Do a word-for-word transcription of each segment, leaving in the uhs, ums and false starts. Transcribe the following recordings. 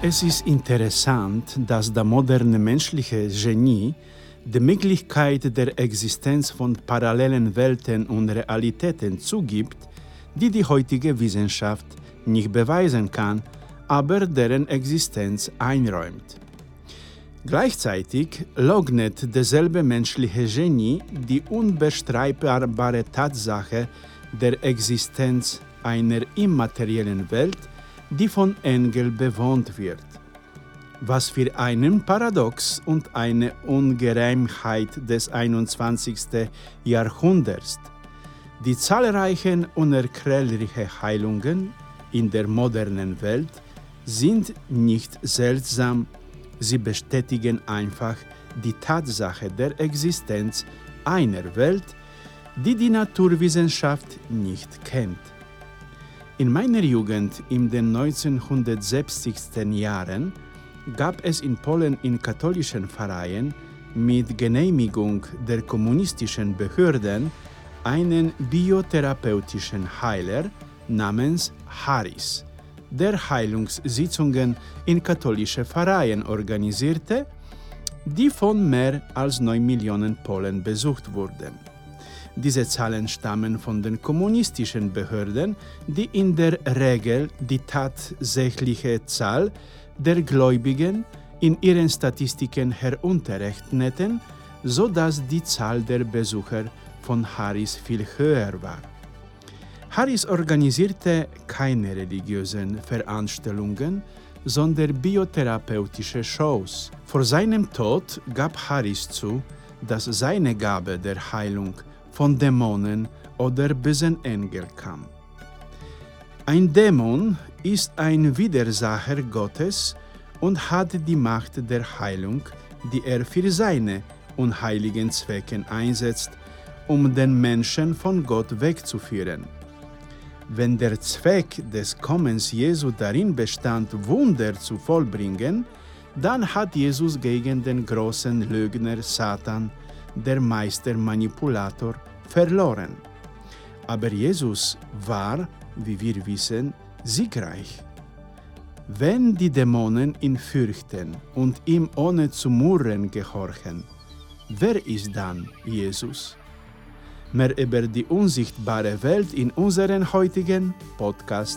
Es ist interessant, dass das moderne menschliche Genie die Möglichkeit der Existenz von parallelen Welten und Realitäten zugibt, die die heutige Wissenschaft nicht beweisen kann, aber deren Existenz einräumt. Gleichzeitig leugnet derselbe menschliche Genie die unbestreitbare Tatsache der Existenz einer immateriellen Welt, die von Engeln bewohnt wird. Was für einen Paradox und eine Ungereimtheit des einundzwanzigsten Jahrhunderts. Die zahlreichen unerklärlichen Heilungen in der modernen Welt sind nicht seltsam, sie bestätigen einfach die Tatsache der Existenz einer Welt, die die Naturwissenschaft nicht kennt. In meiner Jugend in den neunzehnhundertsiebzigsten Jahren gab es in Polen in katholischen Pfarreien mit Genehmigung der kommunistischen Behörden einen biotherapeutischen Heiler namens Harris, der Heilungssitzungen in katholische Pfarreien organisierte, die von mehr als neun Millionen Polen besucht wurden. Diese Zahlen stammen von den kommunistischen Behörden, die in der Regel die tatsächliche Zahl der Gläubigen in ihren Statistiken herunterrechneten, sodass die Zahl der Besucher von Harris viel höher war. Harris organisierte keine religiösen Veranstaltungen, sondern biotherapeutische Shows. Vor seinem Tod gab Harris zu, dass seine Gabe der Heilung von Dämonen oder bösen Engeln kam. Ein Dämon ist ein Widersacher Gottes und hat die Macht der Heilung, die er für seine unheiligen Zwecke einsetzt, um den Menschen von Gott wegzuführen. Wenn der Zweck des Kommens Jesu darin bestand, Wunder zu vollbringen, dann hat Jesus gegen den großen Lügner Satan, der Meistermanipulator, verloren. Aber Jesus war, wie wir wissen, siegreich. Wenn die Dämonen ihn fürchten und ihm ohne zu murren gehorchen, wer ist dann Jesus? Mehr über die unsichtbare Welt in unserem heutigen Podcast.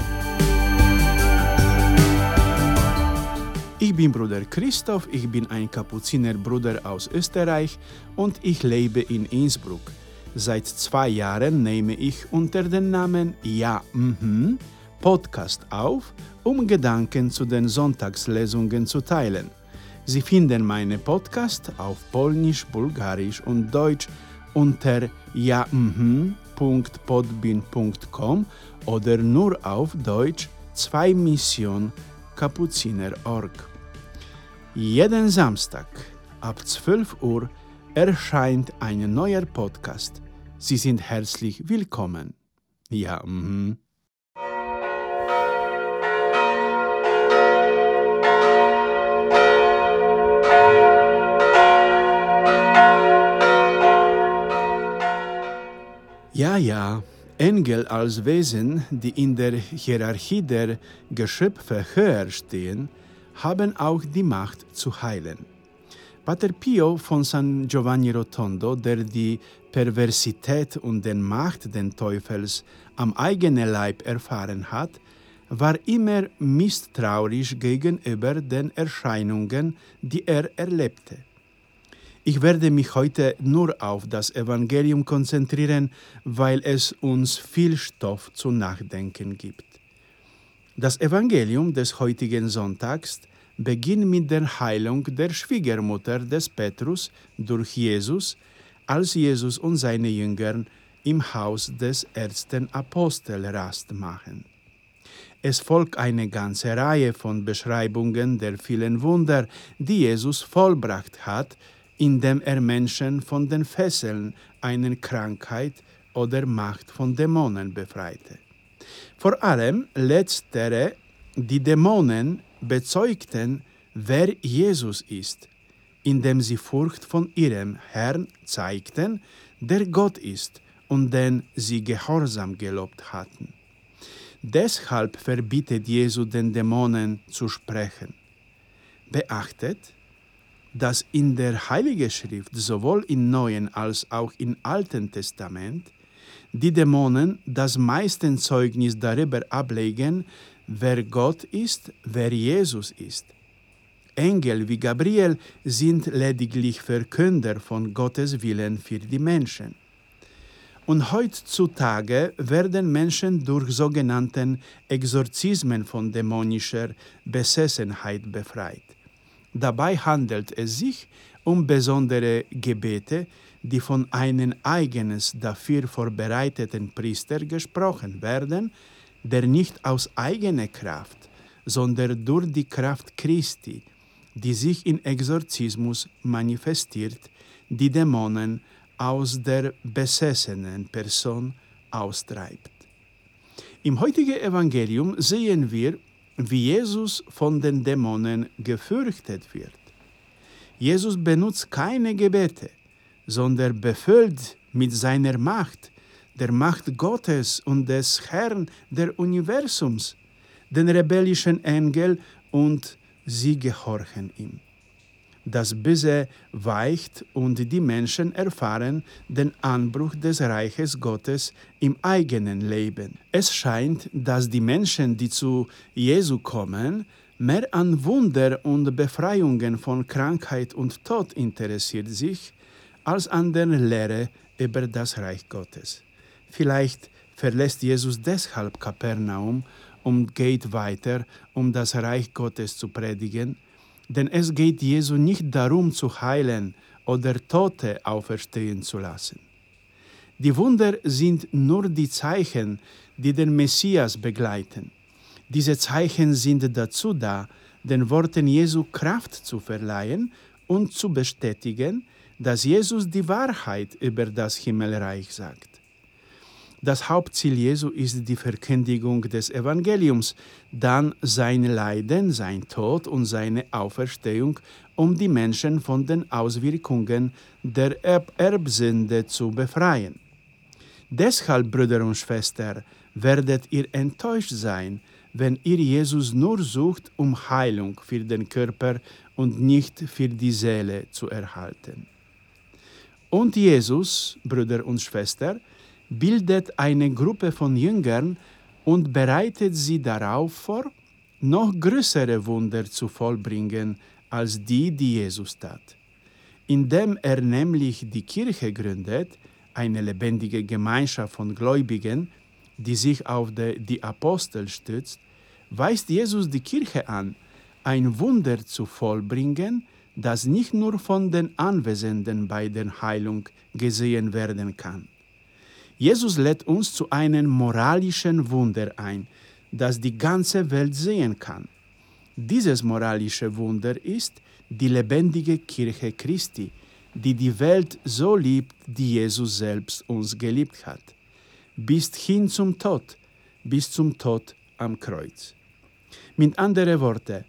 Ich bin Bruder Christoph, ich bin ein Kapuzinerbruder aus Österreich und ich lebe in Innsbruck. Seit zwei Jahren nehme ich unter dem Namen Ja, mhm Podcast auf, um Gedanken zu den Sonntagslesungen zu teilen. Sie finden meine Podcast auf Polnisch, Bulgarisch und Deutsch unter ja mhm punkt podbean punkt com oder nur auf Deutsch zwei Mission Kapuziner punkt org. Jeden Samstag ab zwölf Uhr erscheint ein neuer Podcast. Sie sind herzlich willkommen. Ja, mhm. Ja, ja, Engel als Wesen, die in der Hierarchie der Geschöpfe höher stehen, haben auch die Macht zu heilen. Pater Pio von San Giovanni Rotondo, der die Perversität und die Macht des Teufels am eigenen Leib erfahren hat, war immer misstrauisch gegenüber den Erscheinungen, die er erlebte. Ich werde mich heute nur auf das Evangelium konzentrieren, weil es uns viel Stoff zu nachdenken gibt. Das Evangelium des heutigen Sonntags beginnt mit der Heilung der Schwiegermutter des Petrus durch Jesus, als Jesus und seine Jünger im Haus des ersten Apostels Rast machen. Es folgt eine ganze Reihe von Beschreibungen der vielen Wunder, die Jesus vollbracht hat, indem er Menschen von den Fesseln einer Krankheit oder Macht von Dämonen befreite. Vor allem letztere, die Dämonen bezeugten, wer Jesus ist, indem sie Furcht von ihrem Herrn zeigten, der Gott ist und den sie Gehorsam gelobt hatten. Deshalb verbietet Jesus den Dämonen zu sprechen. Beachtet, dass in der Heiligen Schrift sowohl im Neuen als auch im Alten Testament die Dämonen das meiste Zeugnis darüber ablegen, wer Gott ist, wer Jesus ist. Engel wie Gabriel sind lediglich Verkünder von Gottes Willen für die Menschen. Und heutzutage werden Menschen durch sogenannte Exorzismen von dämonischer Besessenheit befreit. Dabei handelt es sich um besondere Gebete, die von einem eigens dafür vorbereiteten Priester gesprochen werden, der nicht aus eigener Kraft, sondern durch die Kraft Christi, die sich in Exorzismus manifestiert, die Dämonen aus der besessenen Person austreibt. Im heutigen Evangelium sehen wir, wie Jesus von den Dämonen gefürchtet wird. Jesus benutzt keine Gebete, sondern befüllt mit seiner Macht, der Macht Gottes und des Herrn der Universums, den rebellischen Engel, und sie gehorchen ihm. Das Böse weicht und die Menschen erfahren den Anbruch des Reiches Gottes im eigenen Leben. Es scheint, dass die Menschen, die zu Jesu kommen, mehr an Wunder und Befreiungen von Krankheit und Tod interessiert sich, als an der Lehre über das Reich Gottes. Vielleicht verlässt Jesus deshalb Kapernaum und geht weiter, um das Reich Gottes zu predigen, denn es geht Jesu nicht darum zu heilen oder Tote auferstehen zu lassen. Die Wunder sind nur die Zeichen, die den Messias begleiten. Diese Zeichen sind dazu da, den Worten Jesu Kraft zu verleihen und zu bestätigen, dass Jesus die Wahrheit über das Himmelreich sagt. Das Hauptziel Jesu ist die Verkündigung des Evangeliums, dann sein Leiden, sein Tod und seine Auferstehung, um die Menschen von den Auswirkungen der Erb- Erbsünde zu befreien. Deshalb, Brüder und Schwestern, werdet ihr enttäuscht sein, wenn ihr Jesus nur sucht, um Heilung für den Körper und nicht für die Seele zu erhalten. Und Jesus, Brüder und Schwestern, bildet eine Gruppe von Jüngern und bereitet sie darauf vor, noch größere Wunder zu vollbringen als die, die Jesus tat. Indem er nämlich die Kirche gründet, eine lebendige Gemeinschaft von Gläubigen, die sich auf die Apostel stützt, weist Jesus die Kirche an, ein Wunder zu vollbringen, das nicht nur von den Anwesenden bei der Heilung gesehen werden kann. Jesus lädt uns zu einem moralischen Wunder ein, das die ganze Welt sehen kann. Dieses moralische Wunder ist die lebendige Kirche Christi, die die Welt so liebt, die Jesus selbst uns geliebt hat, bis hin zum Tod, bis zum Tod am Kreuz. Mit anderen Worten,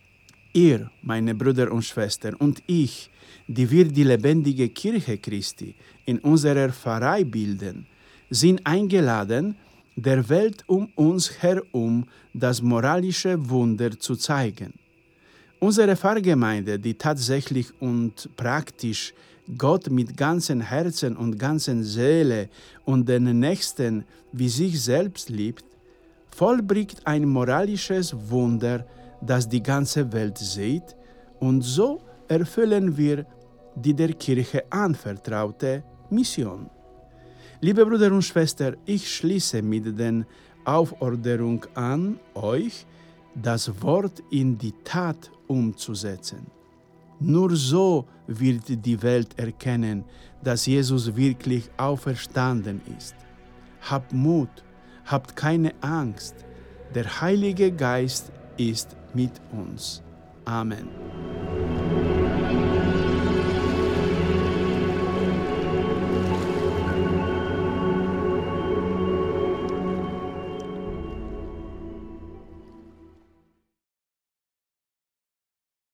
ihr, meine Brüder und Schwestern, und ich, die wir die lebendige Kirche Christi in unserer Pfarrei bilden, sind eingeladen, der Welt um uns herum das moralische Wunder zu zeigen. Unsere Pfarrgemeinde, die tatsächlich und praktisch Gott mit ganzem Herzen und ganzer Seele und den Nächsten wie sich selbst liebt, vollbringt ein moralisches Wunder, das die ganze Welt sieht, und so erfüllen wir die der Kirche anvertraute Mission. Liebe Brüder und Schwestern, ich schließe mit der Aufforderung an euch, das Wort in die Tat umzusetzen. Nur so wird die Welt erkennen, dass Jesus wirklich auferstanden ist. Habt Mut, habt keine Angst. Der Heilige Geist ist mit uns. Amen.